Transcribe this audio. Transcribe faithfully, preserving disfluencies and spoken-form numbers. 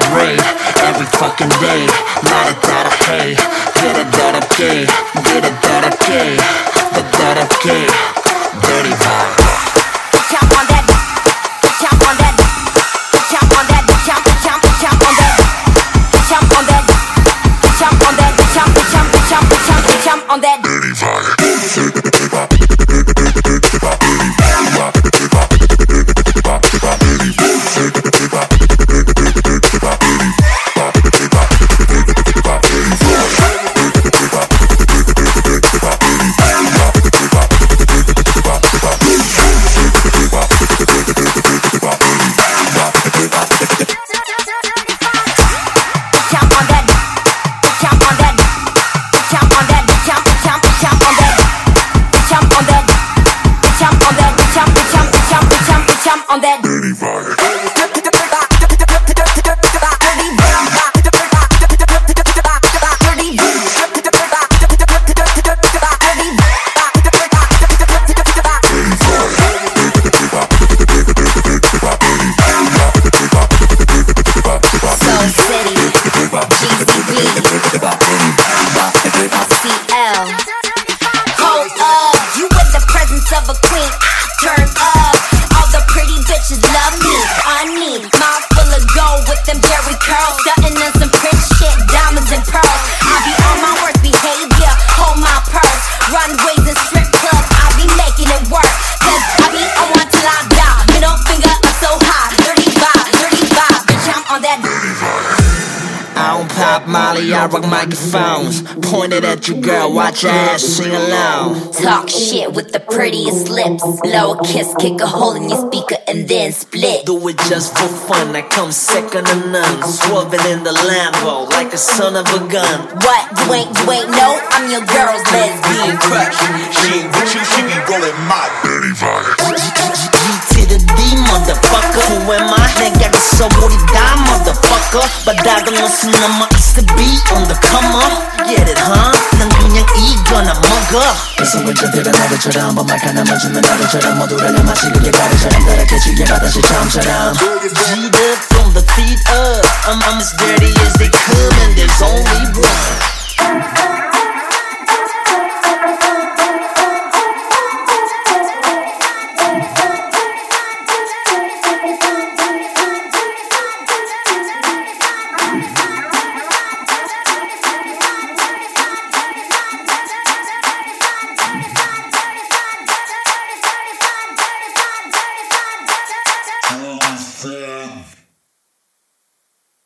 rave every fucking day. 말했다라 hey, 그래다랍게, 그래다랍게, 그래다랍게, dirty vibe. Jump on that, jump on that, jump on that, jump, jump, jump on that, jump on that, jump on that, jump, jump, jump, jump, jump on that. Dirty vibe. On that dirty vibe. Molly, I rock microphones pointed at you, girl, watch your ass sing along. Talk shit with the prettiest lips. Blow a kiss, kick a hole in your speaker and then split. Do it just for fun, I come second to none. Swerving in the Lambo like a son of a gun. What, you ain't, you ain't know? I'm your girl's lesbian crush. She ain't with you, she be rolling my dirty vibe. G to the D, motherfucker. Who am I? 내가 있어버리다, motherfucker. 바닥은 무슨 남아 있어 be on the come up. Get it, huh? 난 그냥 이거나 먹어. 그래서 왼쪽들은 나를처럼 번말 하나만 주면 나를처럼 모두를 마시기에 가르처럼 따라캐지게 바다시 처음처럼. G'd up from the feet up. I'm, I'm as dirty as they come and there's only one.